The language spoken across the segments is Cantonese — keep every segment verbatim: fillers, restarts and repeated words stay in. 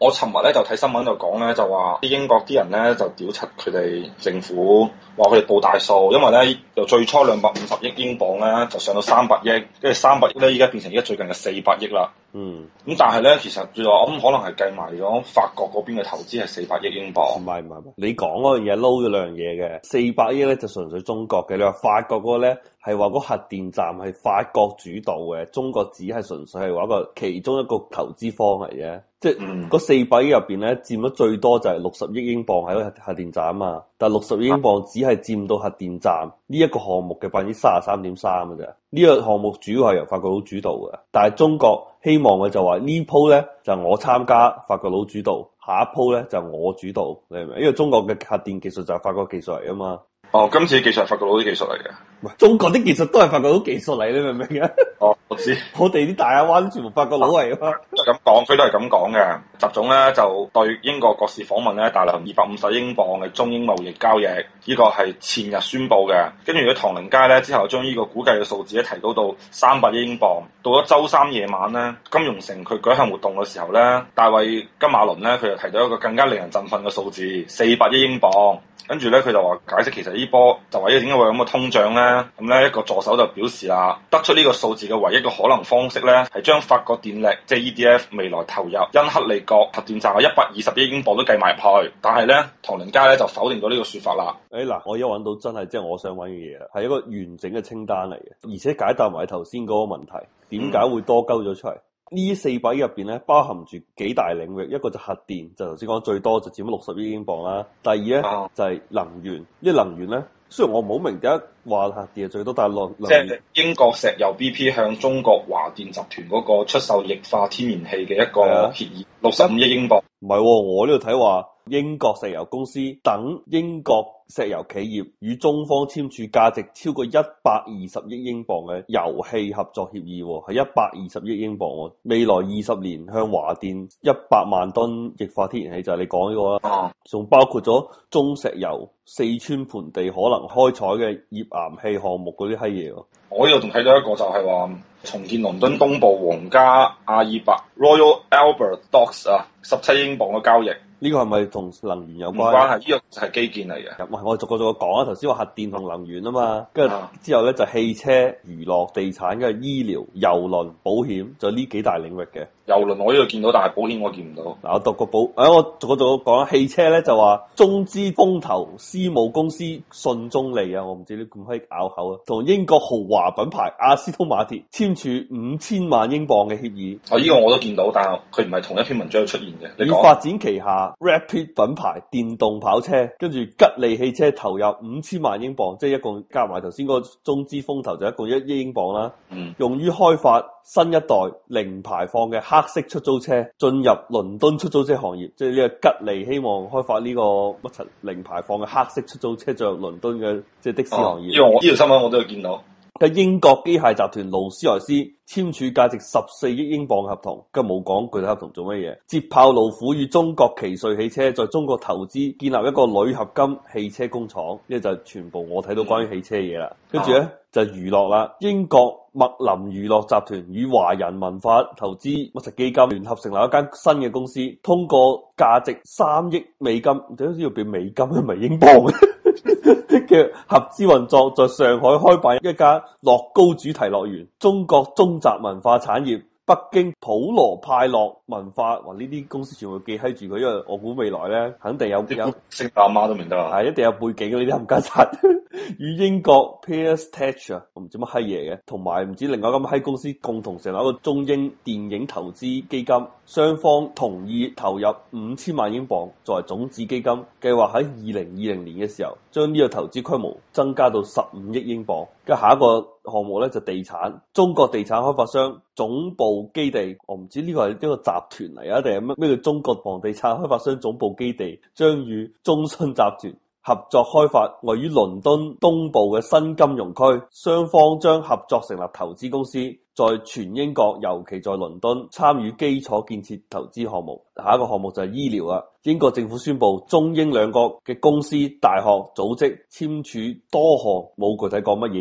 我尋日咧就睇新聞就講咧，就話啲英國啲人咧就屌柒佢哋政府，話佢哋報大數，因為咧由最初兩百五十億英鎊咧就上到三百億，跟住三百億咧依家變成而家最近嘅四百億啦。嗯，咁但係咧其實最後我諗可能係計埋咗法國嗰邊嘅投資係四百億英鎊。 唔係唔係唔係，你講嗰樣嘢撈咗兩樣嘢嘅，四百億咧就純粹中國嘅，你話法國嗰個咧係話嗰核電站係法國主導嘅，中國只係純粹係話一個其中一個投資方嚟嘅。即係嗰四百億入邊咧，佔咗最多就係六十億英鎊喺個核核電站啊嘛，但係六十億英鎊只係佔到核電站呢一個項目嘅百分之三十三點三嘅啫。呢個項目主要係由法國佬主導嘅，但係中國希望嘅就話呢鋪咧就係我參加，法國佬主導，下一鋪咧就係我主導，你明唔明？因為中國嘅核電技術就係法國技術嚟啊嘛。 哦，今次技術係法國佬啲技術嚟嘅。 唔係，中國啲技術都係法國佬技術嚟，你明唔明啊？ 哦，我知。 我哋啲大亞灣全部法國佬嚟啊嘛。 都係咁講，佢都係咁講嘅。習總咧就對英國國事訪問咧大量二百五十英鎊嘅中英貿易交易，呢、這個係前日宣布嘅。跟住喺唐寧街咧之後，將呢個估計嘅數字咧提高到三百億英鎊。到咗周三夜晚咧，金融城佢舉行活動嘅時候咧，大衛金馬倫咧佢就提到一個更加令人振奮嘅數字，四百億英鎊。跟住咧，佢就話解釋其實呢波就話呢點解會有咁嘅通脹咧？咁咧一個助手就表示啦，得出呢個數字嘅唯一嘅可能方式咧，係將法國電力即係 E D F 未來投入因克利角核電站嘅一百二十億英鎊都計埋入去。但係咧，唐寧街咧就否定咗呢個説法啦。 誒嗱、哎，我一揾到真係即係我想揾嘅嘢，係一個完整嘅清單嚟嘅，而且解答埋頭先嗰個問題，點解會多鳩咗出嚟？呢四百億入邊咧，包含住幾大領域，一個就核電，就頭先講最多就佔咗六十億英鎊啦。第二咧、啊、就係能源，呢能源咧，雖然我唔好明點解話核電係最多，但係能即係英國石油 B P 向中國華電集團嗰個出售液化天然氣嘅一個協議，六十五億英鎊。 唔係、哦，我呢度睇話英國石油公司等英國石油企業與中方簽署價值超過一百二十億英鎊嘅油氣合作協議，係一百二十億英鎊。未來二十年向華電一百萬噸液化天然氣，就係你講呢個啦。仲、啊、包括咗中石油四川盆地可能開採嘅頁岩氣項目嗰啲閪嘢。 我呢度仲睇到一個就係話重建倫敦東部皇家阿爾伯 Royal Albert Docks 啊，十七英鎊嘅交易。 呢個係咪同能源有關？ 唔關係，呢、這個係基建嚟嘅。 唔係，我逐個逐個講啊。頭先話核電同能源啊嘛，跟住之後咧就汽車、娛樂、地產、跟住醫療、郵輪、保險，就呢幾大領域嘅。 郵輪我呢度見到，但係保險我見唔到。 嗱，我讀個保，誒、哎，我逐個逐個講啦。汽車咧就話中資風投私募公司信中利啊，我唔知你咁可以拗口啊，同英國豪華品牌阿斯通馬鐵簽署五千萬英鎊嘅協議。 哦，呢、這個我都見到，但係佢唔係同一篇文章出現嘅。你以發展旗下 Rapid 品牌電動跑車，跟住吉利汽車投入五千萬英鎊，即係一共加埋頭先嗰個中資風投就一共一億英鎊啦。嗯，用於開發新一代零排放嘅黑色出租車，進入倫敦出租車行業，即係呢個吉利希望開發呢個乜柒零排放嘅黑色出租車進入倫敦嘅即係的士行業。 呢個我呢條新聞我都有見到。 嘅英國機械集團勞斯萊斯簽署價值十四億英鎊嘅合同，跟冇講具體合同做乜嘢。捷豹路虎與中國奇瑞汽車在中國投資建立一個鋁合金汽車工廠，呢就全部我睇到關於汽車嘢啦。跟住咧就娛樂啦，英國麥林娛樂集團與華人文化投資乜實基金聯合成立一間新嘅公司，通過價值三億美金，點解要變美金唔係英鎊嘅合資運作，在上海開辦一家樂高主題樂園，中國中集文化產業。北京普羅派樂文化，哇！呢啲公司全部記喺住佢，因為我估未來咧肯定有有識阿媽都明得啊， 係一定有背景嘅呢啲冚家鏟。與英國 Pearce Tech 啊，我唔知乜閪嘢嘅，同埋唔知另外一間閪公司共同成立一個中英電影投資基金，雙方同意投入五千萬英鎊作為種子基金，計劃喺二零二零年嘅時候將呢個投資規模增加到十五億英鎊。跟下一個項目咧就地產，中國地產開發商總部基地，我唔知呢個係一個集團嚟啊，定係乜咩叫中國房地產開發商總部基地，將與中信集團合作開發位於倫敦東部嘅新金融區，雙方將合作成立投資公司，在全英國，尤其在倫敦參與基礎建設投資項目。下一個項目就係醫療啦。英國政府宣布，中英兩國嘅公司、大學、組織簽署多項冇具體講乜嘢嘢，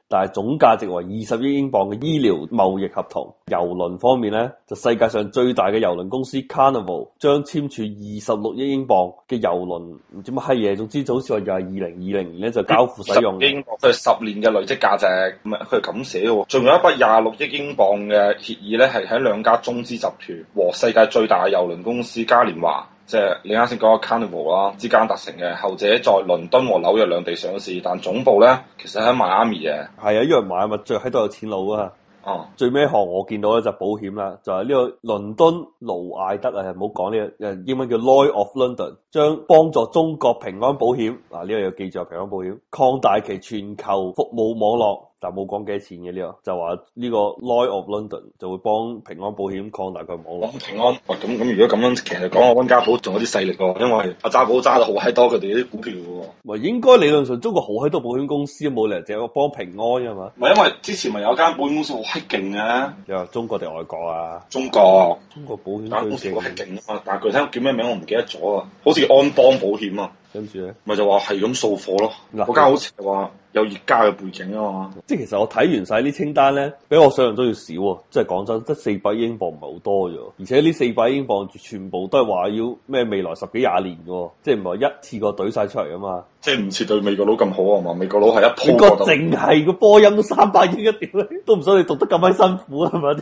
但係總價值為二十億英鎊嘅醫療貿易合同。郵輪方面咧，就世界上最大嘅郵輪公司 Carnival 將簽署二十六億英鎊嘅郵輪，唔知乜閪嘢，總之就好似話又係二零二零年咧就交付使用。 英鎊佢係十年嘅累積價值，唔係佢係咁寫喎。仲有一筆廿六億英鎊嘅協議咧，係喺兩家中資集團和世界最大嘅郵輪公司嘉年華，即係你啱先講嘅 Carnival 啦之間達成嘅。後者在倫敦和紐約兩地上市，但總部咧其實喺邁阿密嘅。係啊，因為邁阿密最喺度有錢佬啊。 哦， 最尾一項我見到咧就保險啦，就係、是、呢個倫敦勞艾德啊，唔好講呢個，誒英文叫 Lloyd of London，將幫助中國平安保險嗱呢個要記住平安保險擴大其全球服務網絡，但冇講幾多錢嘅呢、這個，就話呢個 Lloyd of London 就會幫平安保險擴大佢網絡。 平安，咁咁、哦、如果咁樣，其實講阿溫家寶仲有啲勢力喎，因為阿渣寶揸得好閪多佢哋啲股票嘅喎。 唔應該理論上中國好閪多保險公司，冇理由淨係幫平安嘅嘛。 唔係因為之前咪有間保險公司好閪勁嘅。 你話中國定外國啊？ 中國， 中國保險公司好閪勁啊嘛，但係具體叫咩名我唔記得咗啊，好似安邦保險啊。 跟住咧， 咪就話係咁掃貨咯。嗰間好似係話有葉家嘅背景啊嘛。 即係其實我睇完晒啲清單咧，比我想象中要少。即係講真，得四百英鎊唔係好多啫。而且呢四百英鎊全部都係話要咩未來十幾廿年嘅，即係唔係一次過懟晒出嚟啊嘛。 即係唔似對美國佬咁好啊嘛。美國佬係一鋪。 美國淨係個波音都三百億一條，都唔使你讀得咁閪辛苦啊嘛。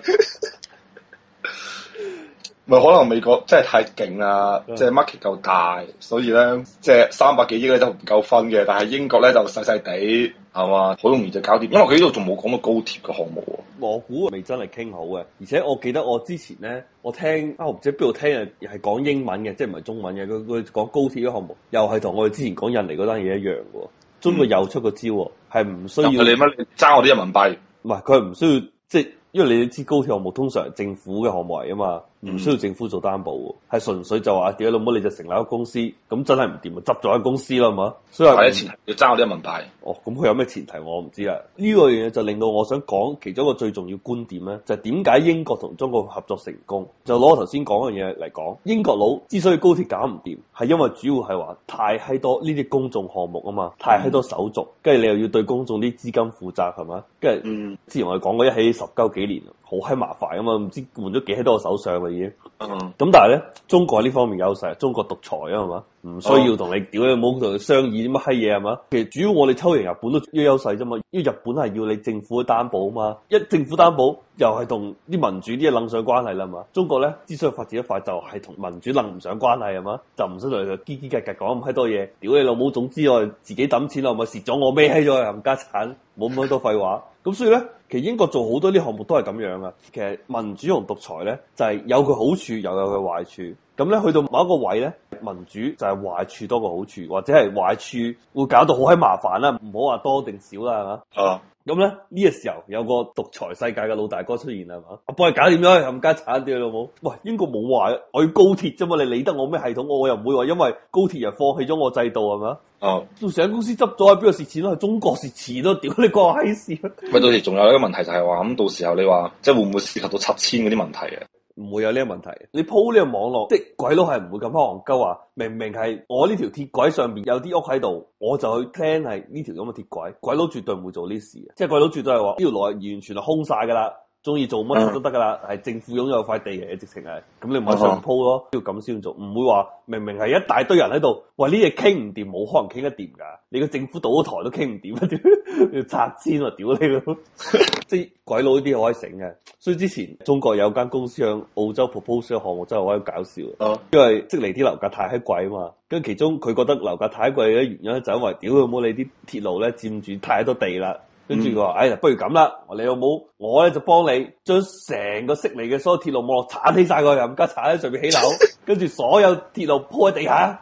咪可能美國真係太勁啦，即係 market 夠大，所以咧即係三百幾億咧就唔夠分嘅。但係英國咧就細細地係嘛，好容易就搞掂。因為佢呢度仲冇講到高鐵嘅項目喎。我估未真係傾好嘅，而且我記得我之前咧，我聽啊，我唔知邊度聽啊，係講英文嘅，即係唔係中文嘅。佢佢講高鐵嘅項目，又係同我哋之前講印尼嗰單嘢一樣嘅。中國又出個招，係唔、嗯、需要你乜？你爭我啲人民幣？ 唔係，佢係唔需要即係。因為你知高鐵項目通常係政府嘅項目嚟啊嘛，唔需要政府做擔保喎，係、嗯、純粹就話屌你老母你就成立一個公司，咁真係唔掂啊，執咗間公司啦，係嘛？所以係前提要爭我啲人民幣。哦，咁佢有咩前提我唔知啦。呢、這個嘢就令到我想講其中一個最重要觀點咧，就係點解英國同中國合作成功？就攞我頭先講嘅嘢嚟講，英國佬之所以高鐵搞唔掂，係因為主要係話太閪多呢啲公眾項目啊嘛，太閪多手續，跟住、嗯、你又要對公眾啲資金負責係嘛？跟住、嗯、之前我哋講過一起十鳩幾年，好閪麻煩啊嘛，唔知換咗幾多個首相啦已經。咁、嗯、但係咧，中國喺呢方面優勢，中國獨裁啊係嘛，唔需要同你屌你冇同佢商議啲乜閪嘢係嘛。其實主要我哋抽贏日本都有優勢啫嘛，因為日本係要你政府嘅擔保啊嘛，一政府擔保又係同啲民主啲嘢諗上關係啦嘛。中國咧之所以發展得快，就係同民主諗唔上關係係嘛，就唔使同佢嘰嘰格格講咁閪多嘢，屌你老母，總之我自己抌錢啦，咪蝕咗我孭閪咗冚家產，冇咁多廢話。咁所以咧，其實英國做好多啲項目都係咁樣噶。其實民主同獨裁咧，就係、是、有佢好處，又有佢壞處。咁咧去到某一個位咧，民主就係壞處多過好處，或者係壞處會搞到好閪麻煩啦。唔好話多定少啦，係嘛？啊！咁咧呢、這個時候有個獨裁世界嘅老大哥出現係嘛？我幫你搞掂咗，冚家鏟啲老母。喂，英國冇話我要高鐵啫嘛，你理得我咩系統？我又唔會話因為高鐵而放棄咗我制度係嘛？哦，到時間公司執咗喺邊度蝕錢咯？係中國蝕錢咯？屌你個閪事！喂，到時仲有一個問題就係話咁，到時候你話即係會唔會涉及到七千嗰啲問題啊？唔會有呢個問題。你鋪呢個網絡，即係鬼佬係唔會咁戇鳩話，明明係我呢條鐵軌上邊有啲屋喺度，我就去 plan 係呢條咁嘅鐵軌。鬼佬絕對唔會做呢事嘅，即係鬼佬絕對係話呢條路係完全係空晒噶啦。中意做乜都得噶啦，係、嗯、政府擁有塊地嘅，直情係，咁你咪上鋪咯，要咁先做，唔會話明明係一大堆人喺度，喂呢嘢傾唔掂，冇可能傾得掂噶，你個政府倒咗台都傾唔掂啊，要拆遷啊，屌你咯，即係鬼佬呢啲好閪醒嘅，所以之前中國有間公司向澳洲 propose 嘅項目真係好閪搞笑，嗯、因為悉尼啲樓價太閪貴啊嘛，跟其中佢覺得樓價太貴嘅原因就係因為屌佢冇你啲鐵路咧佔住太多地啦。跟住佢話，哎呀，不如咁啦，你有冇我咧就幫你將成個悉尼嘅所有鐵路網絡鏟起晒佢，冚家鏟喺上面起樓，跟住所有鐵路鋪喺地下，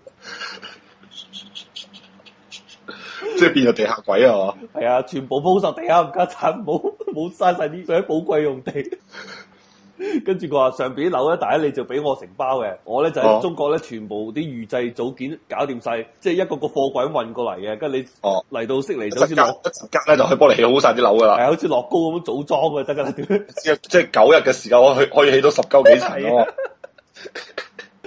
即係變咗地下軌啊嘛？ 係啊，全部鋪晒地下，冚家鏟冇冇嘥晒啲最寶貴用地。跟住佢話上邊啲樓咧，第一你就俾我承包嘅，我咧就喺中國咧全部啲預製組件搞掂晒，即係一個個貨櫃運過嚟嘅，跟住你哦嚟到悉尼就好似落一格咧就可以幫你起好晒啲樓噶啦，係好似樂高咁組裝嘅得噶啦，即係即係九日嘅時間我可以可以起到十鳩幾層咯。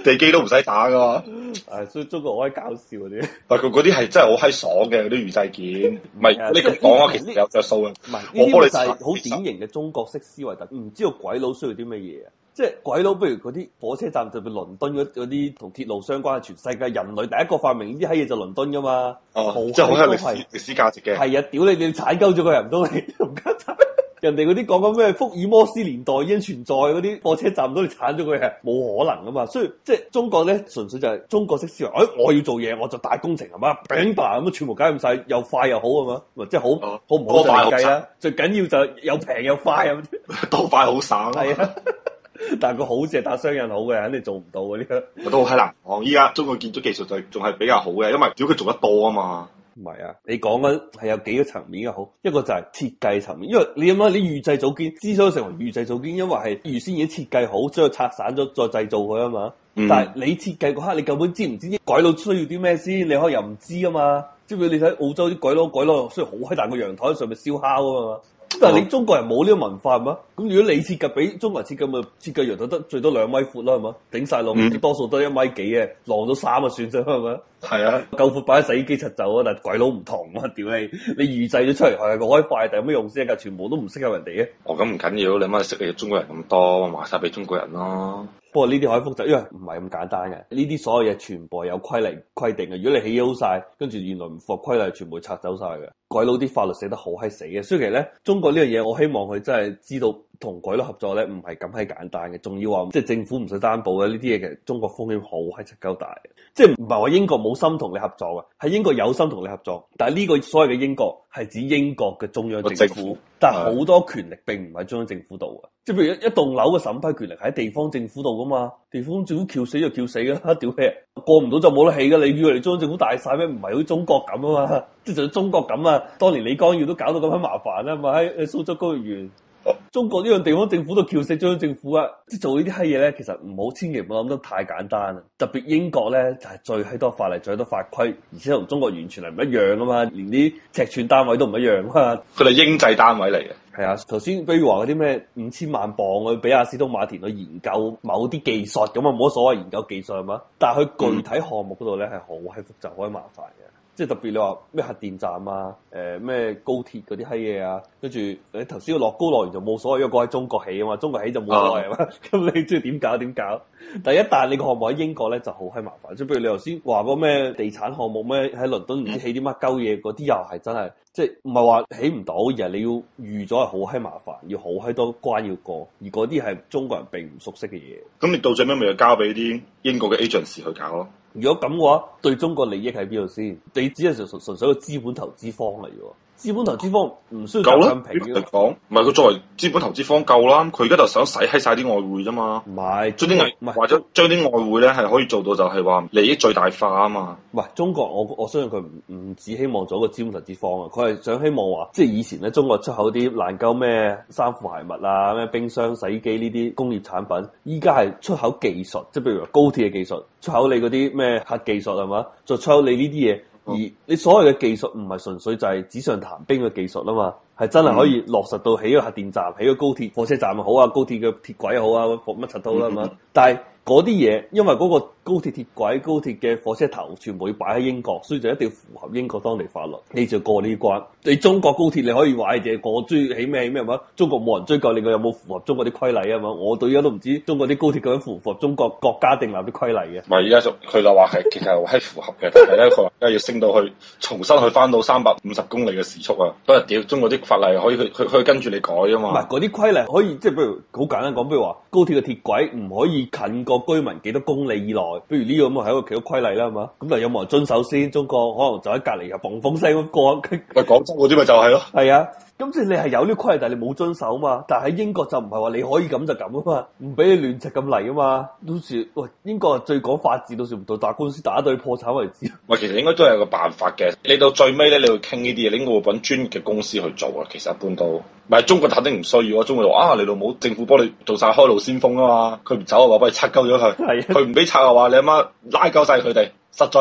地基都唔使打噶嘛。 係，所以中國好閪搞笑嗰啲。 但佢嗰啲係真係好閪爽嘅嗰啲預製件，唔係你咁講啊，其實有着數嘅。 唔係呢我幫你啲就係好典型嘅中國式思維，特唔知道鬼佬需要啲乜嘢啊？即係鬼佬，不如嗰啲火車站，特別倫敦嗰嗰啲同鐵路相關嘅，全世界人類第一個發明呢啲閪嘢就倫敦噶嘛。 哦，即係好有歷史歷史價值嘅。 係啊，屌你！你踩鳩咗個人唔到你，唔加踩。人哋嗰啲講緊咩福爾摩斯年代已經存在嗰啲火車站，唔到你鏟咗佢係冇可能噶嘛。所以即係中國咧，純粹就係中國式思維。哎，我要做嘢，我就大工程係嘛，餅吧咁全部搞掂晒，又快又好係嘛，即係好、哦、好唔好就嚟計啦。最緊要就又平又快咁， 多快好省。 係啊。但係個好字係打雙引號嘅，肯定做唔到嘅呢個。 都好閪難講。依家中國建築技術就仲係比較好嘅，因為如果佢做得多啊嘛。 唔係啊，你講緊係有幾個層面嘅好，一個就係設計層面，因為你諗下，你預製組件之所以成為預製組件，因為係預先已經設計好，將佢拆散咗再製造佢啊嘛。嗯、但係你設計嗰刻，你根本知唔知啲鬼佬需要啲咩先？你可以又唔知啊嘛。即係你睇澳洲啲鬼佬，鬼佬需要好閪大個陽台喺上面燒烤啊嘛。但係你中國人冇呢個文化係嘛？咁如果你設計俾中國人設計，咪設計陽台得最多兩米闊啦係嘛？頂晒落，嗯、多數都一米幾嘅，晾到三就算啫係嘛？係啊，夠闊擺喺洗衣機出走啊！但係鬼佬唔同啊！屌你，你預製咗出嚟係個開快，但有咩用先？㗎全部都唔適合人哋嘅。哦，咁唔緊要，你乜識嘅中國人咁多，賣晒俾中國人咯。不過呢啲可以複雜，因為唔係咁簡單嘅。呢啲所有嘢全部係有規例規定嘅。如果你起好晒，跟住原來唔符合規例，全部拆走晒嘅。鬼佬啲法律寫得好閪死嘅，所以其實咧，中國呢樣嘢，我希望佢真係知道同鬼佬合作咧，唔係咁閪簡單嘅。仲要話即係政府唔使擔保嘅呢啲嘢，其實中國風險好閪七鳩大嘅。即係唔係話英國冇心同你合作嘅，係英國有心同你合作。但係呢個所謂嘅英國係指英國嘅中央政府，政府但係好多權力並唔喺中央政府度嘅。即係譬如一一棟樓嘅審批權力喺地方政府度噶嘛，地方政府撬死就撬死噶啦，屌咩？過唔到就冇得起噶，你以為你中央政府大晒咩？唔係好似中國咁啊嘛，即係就算中國咁啊，當年李光耀都搞到咁樣麻煩啊嘛，喺蘇州高月園。中國呢樣地方政府都撬死中央政府啊！即係做呢啲閪嘢咧，其實唔好，千祈唔好諗得太簡單啊！特別英國咧就係、是、最閪多法例、最多法規，而且同中國完全係唔一樣啊嘛，連啲尺寸單位都唔一樣啊嘛。佢哋英制單位嚟嘅。係啊，頭先比如話嗰啲咩五千萬磅去俾阿斯通馬田去研究某啲技術咁啊，冇乜所謂研究技術係嘛？但係佢具體項目嗰度咧係好閪複雜、好閪麻煩嘅。即係特別你話咩核電站啊，誒、呃、咩高鐵嗰啲閪嘢啊，跟住你頭先個樂高樂園就冇所謂，因為嗰喺中國起啊嘛，中國起就冇所謂啊嘛，咁、uh. 你中意點搞點搞。但係一旦你個項目喺英國咧就好閪麻煩，即係譬如你頭先話嗰咩地產項目咩喺倫敦唔知起啲乜鳩嘢，嗰啲又係真係即係唔係話起唔到，而係你要預咗係好閪麻煩，要好閪多關要過，而嗰啲係中國人並唔熟悉嘅嘢。咁你到最尾咪要交俾啲英國嘅 agents 去搞咯。如果咁嘅話，對中國利益喺邊度先？你只係純純純粹個資本投資方嚟嘅喎。資本投資方唔需要習近平嘅講，唔係佢作為資本投資方夠啦。佢而家就想洗閪晒啲外匯啫嘛。唔係將啲外唔係或者將啲外匯咧係可以做到就係話利益最大化啊嘛。唔係中國，我我相信佢唔唔只希望做一個資本投資方啊，佢係想希望話，即係以前咧中國出口啲爛鳩咩衫褲鞋襪啊、咩冰箱、洗衣機呢啲工業產品，依家係出口技術，即係譬如話高鐵嘅技術，出口你嗰啲咩核技術係嘛，再出口你呢啲嘢。而你所謂嘅技術唔係純粹就係紙上談兵嘅技術啊嘛，係真係可以落實到起個核電站、起個高鐵火車站又好啊，高鐵嘅鐵軌又好啊，乜柒都啦嘛。但係嗰啲嘢，因為嗰個高鐵鐵軌、高鐵嘅火車頭全部要擺喺英國，所以就一定要符合英國當地法律，你就過呢關。你中國高鐵你可以話嘅，我中意起咩起咩嘛？中國冇人追究你個有冇符合中國啲規例啊嘛？我到而家都唔知中國啲高鐵究竟符唔符合中國國家定立啲規例嘅。唔係，而家就佢就話係其實係符合嘅，但係咧佢話而家要升到去重新去翻到三百五十公里嘅時速啊！不過屌中國啲法例可以佢佢可以跟住你改啊嘛。唔係嗰啲規例可以即係，譬如好簡單講，譬如話高鐵嘅鐵軌唔可以近個居民幾多公里以內，不如呢個咁啊係一個其他規例啦，係嘛？咁但係有冇人遵守先？中國可能就喺隔離又嘣嘣聲咁過。喂，廣州嗰啲咪就係咯。係啊。咁即係你係有呢個規例，但係你冇遵守嘛？但係喺英國就唔係話你可以咁就咁啊嘛，唔俾你亂直咁嚟啊嘛。到時喂，英國最講法治，到時唔到打官司打到破產為止。喂，其實應該都係有個辦法嘅。你到最尾咧，你要傾呢啲嘢，你應該會揾專業嘅公司去做啊。其實一般都，唔係中國肯定唔需要啊。中國話啊，你老母政府幫你做晒開路先鋒啊嘛，佢唔走嘅話，幫你拆鳩咗佢。係，佢唔俾拆嘅話，你阿媽拉鳩晒佢哋，實在唔得。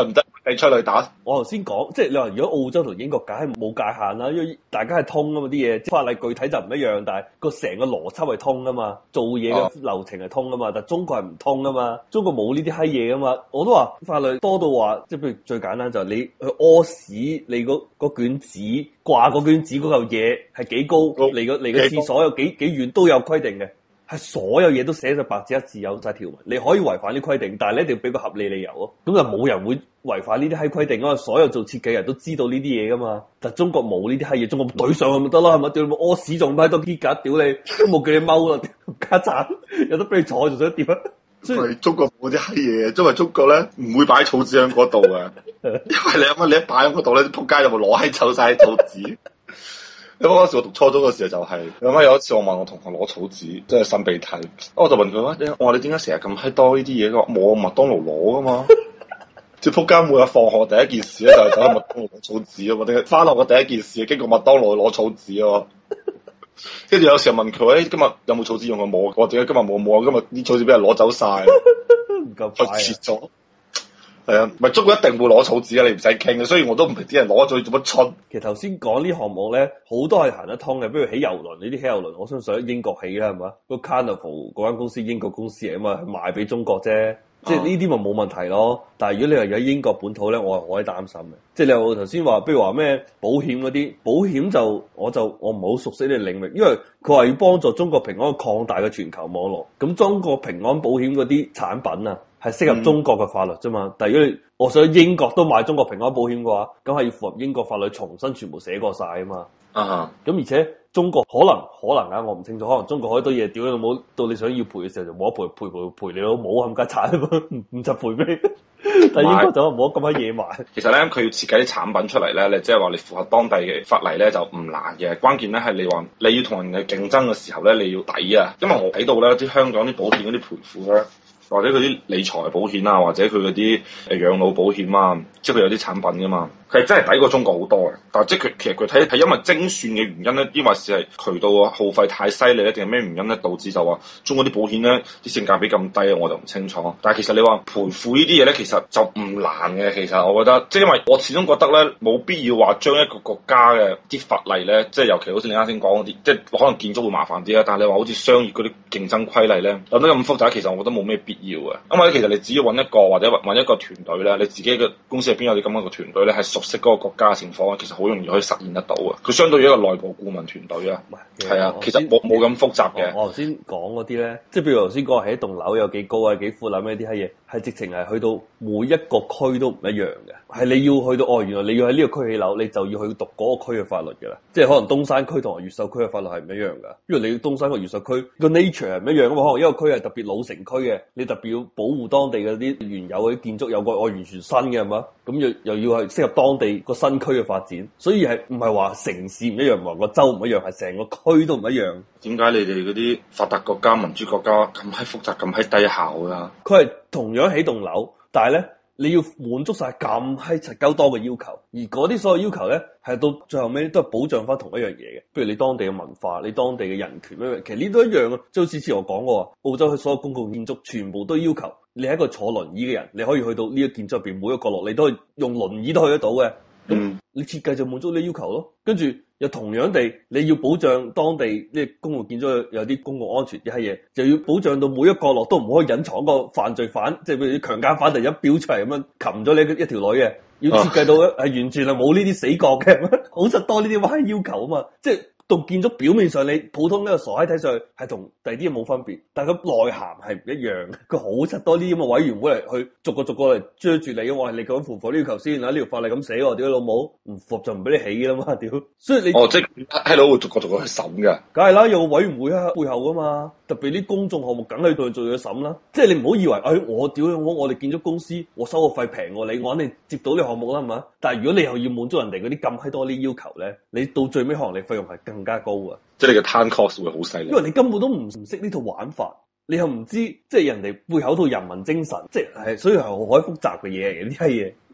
你催淚彈。 我頭先講，即係你話如果澳洲同英國梗係冇界限啦，因為大家係通啊嘛啲嘢，法例具體就唔一樣，但係個成個邏輯係通啊嘛，做嘢嘅流程係通啊嘛，但係中國係唔通啊嘛，中國冇呢啲閪嘢啊嘛，我都話法律多到話，即係譬如最簡單就係你去屙屎，你嗰嗰卷紙掛嗰卷紙嗰嚿嘢係幾高，離個離個廁所有幾幾遠都有規定嘅。係所有嘢都寫咗白紙一字有晒條文，你可以違反啲規定，但係你一定要俾個合理理由咯。咁就冇人會違反呢啲閪規定啊嘛！所有做設計人都知道呢啲嘢噶嘛。但係中國冇呢啲閪嘢，中國懟上去咪得咯，係咪？屌你冇屙屎仲喺度啲架，屌你都冇叫你踎啦，家陣有得俾你坐仲想點啊？ 所以中國冇啲閪嘢，因為中國咧唔會擺草紙喺嗰度嘅，因為你諗下，你一擺喺嗰度咧，啲仆街就會攞閪走晒啲草紙。咁嗰時我讀初中嘅時候就係、是，咁啊有一次我問我同學攞草紙，即係擤鼻涕，我就問佢話：我話你點解成日咁閪多呢啲嘢？佢話冇麥當勞攞噶嘛。即係仆街每日放學第一件事咧就係走去麥當勞攞草紙啊嘛，定係翻學嘅第一件事經過麥當勞攞草紙啊。跟住有時候問佢：誒、欸、今日有冇草紙用啊？冇。我點解今日冇冇啊？今日啲草紙俾人攞走晒， 唔夠快切咗。係啊，咪中國一定會攞草紙啊！你唔使傾嘅，所以我都唔明啲人攞咗做乜春。 其實頭先講呢項目咧，好多係行得通嘅，比如起郵輪呢啲起郵輪，我相信喺英國起啦，係嘛？個 Carnival 嗰間公司英國公司嚟啊嘛，賣俾中國啫，即係呢啲咪冇問題咯。但係如果你話有英國本土咧，我係好鬼擔心嘅。即係你話頭先話，比如話咩保險嗰啲，保險就我就我唔係好熟悉呢個領域，因為佢話要幫助中國平安擴大嘅全球網絡。咁中國平安保險嗰啲產品啊，係適合中國嘅法律啫嘛。嗯、但係如果你我想英國都買中國平安保險嘅話，咁係要符合英國法律，重新全部寫過晒啊嘛。啊，咁而且中國可能可能啊，我唔清楚，可能中國好多嘢屌你老母，到你想要賠嘅時候就冇得賠，賠賠賠你老母冚家鏟，唔唔就賠俾你。但係英國就冇得咁閪野蠻。其實咧，佢要設計啲產品出嚟咧，你即係話你符合當地嘅法例咧，就唔難嘅。關鍵咧係你話你要同人哋競爭嘅時候咧，你要抵啊。因為我睇到咧，啲香港啲保險嗰啲賠付咧，或者佢啲理財保險啊，或者佢嗰啲誒養老保險啊，即係佢有啲產品噶嘛。佢係真係抵過中國好多嘅，但係即係佢其實佢睇係因為精算嘅原因咧，抑或是係渠道耗費太犀利咧，定係咩原因咧導致就話中國啲保險咧啲性價比咁低啊？我就唔清楚。但係其實你話賠付呢啲嘢咧，其實就唔難嘅。其實我覺得，即係因為我始終覺得咧，冇必要話將一個國家嘅啲法例咧，即係尤其好似你啱先講嗰啲，即係可能建築會麻煩啲啦。但係你話好似商業嗰啲競爭規例咧，諗得咁複雜，其實我覺得冇咩必要嘅。因為其實你只要揾一個或者揾一個團隊咧，你自己嘅公司入邊有啲咁樣嘅團隊咧，係熟識嗰個國家嘅情況，其實好容易可以實現得到嘅。佢相對於一個內部顧問團隊啊，係啊，其實冇冇咁複雜嘅。我頭先講嗰啲咧，即係譬如頭先講起一棟樓有幾高啊、幾闊啊咩啲閪嘢，係直情係去到每一個區都唔一樣嘅。係你要去到哦，原來你要喺呢個區起樓，你就要去讀嗰個區嘅法律嘅啦。即係可能東山區同埋越秀區嘅法律係唔一樣㗎，因為你東山個越秀區個 nature 係唔一樣㗎嘛。可能一個區係特別老城區嘅，你特別要保護當地嗰啲原有嗰啲建築有個我完全新嘅係嘛，咁又又要係適合當地個新區嘅發展，所以係唔係話城市唔一樣，唔係個州唔一樣，係成個區都唔一樣。點解你哋嗰啲發達國家、民主國家咁閪複雜、咁閪低效㗎？佢係同樣起棟樓，但係咧你要滿足晒咁閪柒鳩多嘅要求，而嗰啲所有要求咧係到最後尾都係保障翻同一樣嘢嘅，譬如你當地嘅文化、你當地嘅人權咩，其實呢都一樣啊。即係好似之前我講過，澳洲嘅所有公共建築全部都要求你係一個坐輪椅嘅人，你可以去到呢個建築入邊每一個角落，你都可以用輪椅都去得到嘅。咁你設計就滿足你要求咯，跟住又同樣地，你要保障當地呢公共建築有啲公共安全啲閪嘢，就要保障到每一個角落都唔可以隱藏個犯罪犯，即係譬如啲強姦犯突然間飆出嚟咁樣擒咗你一條女嘅，要設計到係完全係冇呢啲死角嘅，好實多呢啲歪要求啊嘛，即係。棟建築表面上你普通呢個傻閪睇上去係同第二啲嘢冇分別，但係佢內涵係唔一樣嘅。佢好柒多呢啲咁嘅委員會嚟去逐個逐個嚟追住你，我係你講符合呢要求先，嗱呢條法例咁寫喎，屌老母唔符合就唔俾你起㗎啦嘛，屌！所以你哦，即係喺度會逐個逐個去審㗎，梗係啦，有個委員會喺背後㗎嘛，特別啲公眾項目梗喺度做嘢審啦。即係你唔好以為，哎我屌我我哋建築公司，我收個費平過你，我肯定接到呢個項目啦，係嘛？但係如果你又要滿足人哋嗰啲咁閪多啲要求咧，你到最尾可能你費用係更加高啊！即係你嘅 time cost 會好犀利，因為你根本都唔唔識呢套玩法，你又唔知即係人哋背後套人民精神，即係係所以係好閪複雜嘅嘢嚟嘅呢啲嘢。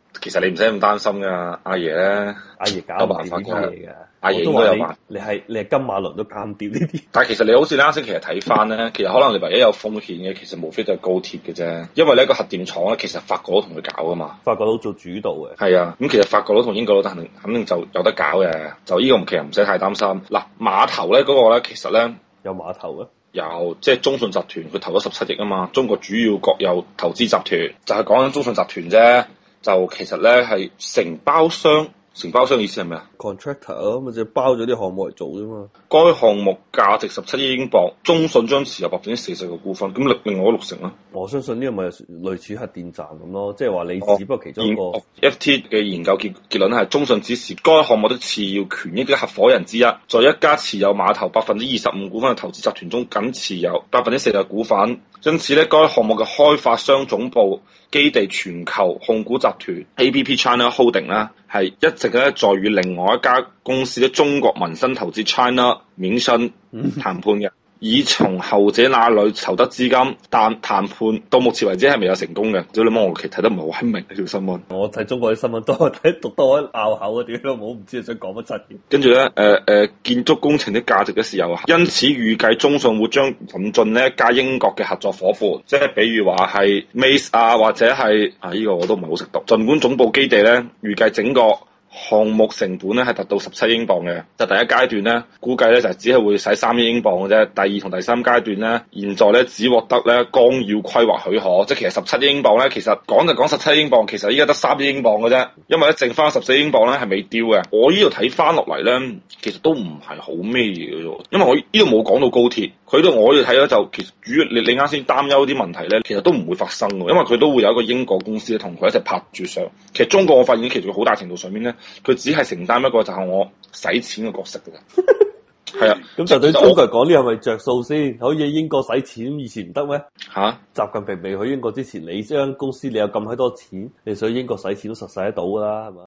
其實你唔使咁擔心噶，阿爺咧， 阿爺搞有唔掂呢辦法嘅。 啲嘢嘅。 阿爺我都話你應該有辦法。 你係你係金馬倫都搞唔掂呢啲。 但係其實你好似啱先其實睇翻咧，其實可能你唯一有風險嘅，其實無非就係高鐵嘅啫。因為呢個核電廠咧，其實法國都同佢搞噶嘛。 法國佬做主導嘅。 係啊，咁其實法國佬同英國佬肯定肯定就有得搞嘅，就呢個其實唔使太擔心。嗱，碼頭咧嗰個咧，其實咧有碼頭啊。 有即係中信集團，佢投咗十七億啊嘛。中國主要國有投資集團就係講緊中信集團啫。就其實咧係承包商，承包商意思係咩啊 ？contractor 咯，咪就包咗啲項目嚟做啫嘛。 該項目價值十七億英鎊，中信將持有百分之四十嘅股份，咁另另外嗰六成啦。 我相信呢個咪類似核電站咁咯，即係話你只不過其中一個。 哦、F T 嘅研究結結論係中信只是該項目的次要權益嘅合夥人之一，在一家持有碼頭百分之二十五股份嘅投資集團中，僅持有百分之四十嘅股份。因此咧，該項目嘅開發商總部基地全球控股集團 A P P China Holding 啦，係一直咧在與另外一家公司嘅中國民生投資 China 免信談判嘅。以從後者那裏籌得資金，但談判到目前為止係未有成功嘅。屌你媽，我其實睇得唔係好明呢條新聞。 我睇中國啲新聞多，睇讀多拗口啊！屌都冇，唔知你想講乜柒嘅。 跟住咧，誒、呃、誒、呃，建築工程的價值嘅時候，因此預計中信會將引進呢一家英國嘅合作伙伴，即係比如話係 Mace 啊，或者係啊呢、這個我都唔係好識讀。儘管總部基地咧預計整個項目成本咧係達到十七英鎊嘅，就第一階段咧估計咧就係只係會使三億英鎊嘅啫。第二同第三階段咧，現在咧只獲得咧綱要規劃許可，即係其實十七億英鎊咧，其實講就講十七億英鎊，其實依家得三億英鎊嘅啫，因為咧剩翻十四億英鎊咧係未丟嘅。我呢度睇翻落嚟咧，其實都唔係好咩嘢嘅啫，因為我呢度冇講到高鐵，佢度我呢度睇咧就其實主要你你啱先擔憂啲問題咧，其實都唔會發生嘅，因為佢都會有一個英國公司同佢一齊拍住上。其實中國我發現其實好大程度上面咧。佢只係承擔一個就係我使錢嘅角色嘅啫，係啊， 咁就對中國人講呢係咪着數先？可以英國使錢，以前唔得咩？ 嚇、啊！ 習近平未去英國之前，你將公司你有咁閪多錢，你想英國使錢都實使得到㗎啦，係嘛？